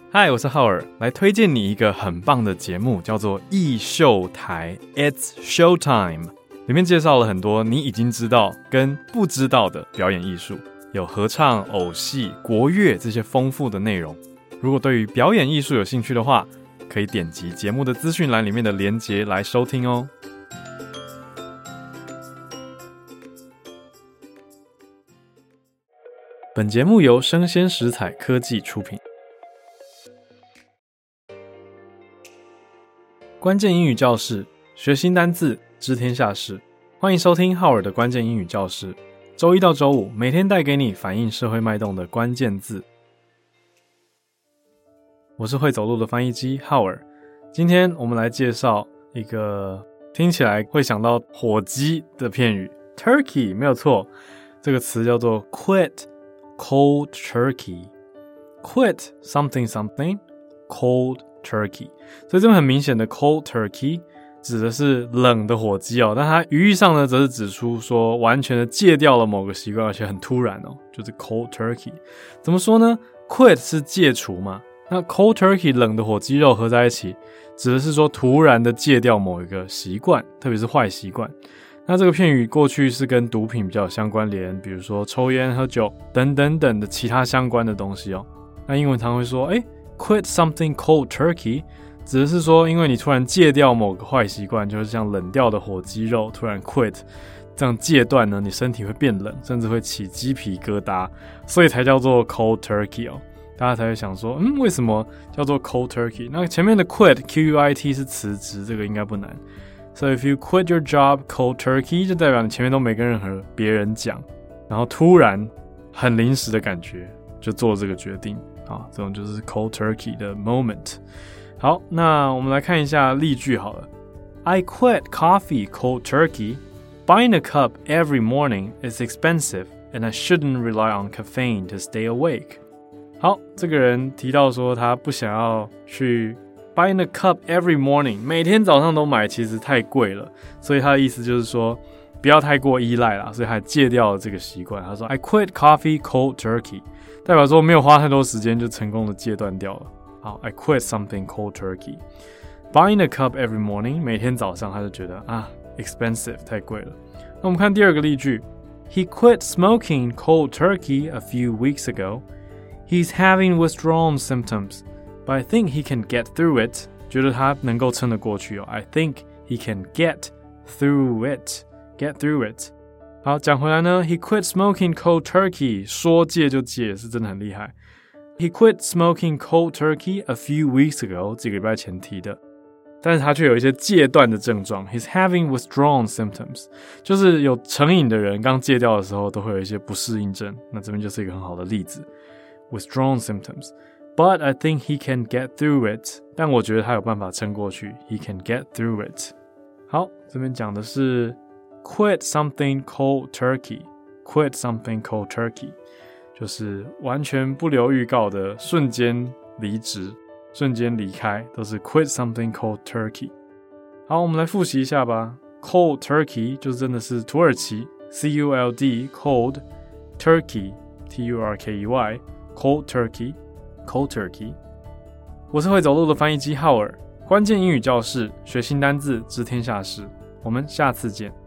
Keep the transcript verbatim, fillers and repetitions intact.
嗨，我是浩爾，來推薦你一個很棒的節目，叫做藝秀台 It's Showtime， 裡面介紹了很多你已經知道跟不知道的表演藝術，有合唱、偶戲、國樂這些豐富的內容。如果對於表演藝術有興趣的話，可以點擊節目的資訊欄裡面的連結來收聽哦。本節目由聲鮮時采科技出品。關鍵英語教室，學新單字，知天下事。歡迎收聽浩爾的關鍵英語教室。週一到週五，每天帶給你反映社會脈動的關鍵字。我是會走路的翻譯機浩爾。今天我們來介紹一個聽起來會想到火雞的片語 ，turkey 沒有錯。這個詞叫做 quit cold turkey。quit something something cold turkey， 所以這邊很明顯的 cold turkey 指的是冷的火雞哦，但它語義上呢，則是指出說完全的戒掉了某個習慣，而且很突然哦，就是 cold turkey。怎麼說呢 ？quit 是戒除嘛，那 cold turkey 冷的火雞肉合在一起，指的是說突然的戒掉某一個習慣，特別是壞習慣。那這個片語過去是跟毒品比較有相關聯，比如說抽菸、喝酒等等等的其他相關的東西哦。那英文常會說，哎。Quit something cold turkey 指的是說，因為你突然戒掉某個壞習慣，就是像冷掉的火雞肉，突然 quit 這樣戒斷呢，你身體會變冷，甚至會起雞皮疙瘩，所以才叫做 cold turkey 哦。大家才會想說，嗯，為什麼叫做 cold turkey？ 那前面的 quit Q U I T 是辭職，這個應該不難。So if you quit your job cold turkey， 就代表你前面都沒跟任何別人講，然後突然很臨時的感覺就做了這個決定。好，這種就是 cold turkey 的 moment。好，那我們來看一下例句好了。I quit coffee cold turkey. Buying a cup every morning is expensive, and I shouldn't rely on caffeine to stay awake. 好，這個人提到說他不想要去 buying a cup every morning， 每天早上都買其實太貴了，所以他的意思就是說不要太過依賴啦，所以他戒掉了這個習慣。他說 I quit coffee cold turkey。代表說沒有花太多時間就成功的戒斷掉了。好 ，I quit something cold turkey. Buying a cup every morning， 每天早上他就覺得啊 ，expensive 太貴了。那我們看第二個例句 ，He quit smoking cold turkey a few weeks ago. He's having withdrawal symptoms, but I think he can get through it. 覺得他能夠撐得過去哦。I think he can get through it. Get through it. 好，講回來呢 ，He quit smoking cold turkey， 說戒就戒，是真的很厲害。He quit smoking cold turkey a few weeks ago， 幾個禮拜前提的，但是他卻有一些戒斷的症狀。He's having withdrawal symptoms， 就是有成癮的人剛戒掉的時候都會有一些不適應症，那這邊就是一個很好的例子。Withdrawal symptoms，but I think he can get through it， 但我覺得他有辦法撐過去。He can get through it。好，這邊講的是。Quit something cold turkey. Quit something cold turkey. 就是完全不留預告的瞬間離職，瞬間離開，都是 quit something cold turkey. 好，我們來複習一下吧。Cold turkey 就是真的是土耳其 C U L D cold turkey T U R K E Y cold turkey cold turkey。我是會走路的翻譯機浩爾，關鍵英語教室，學新單字，知天下事。我們下次見。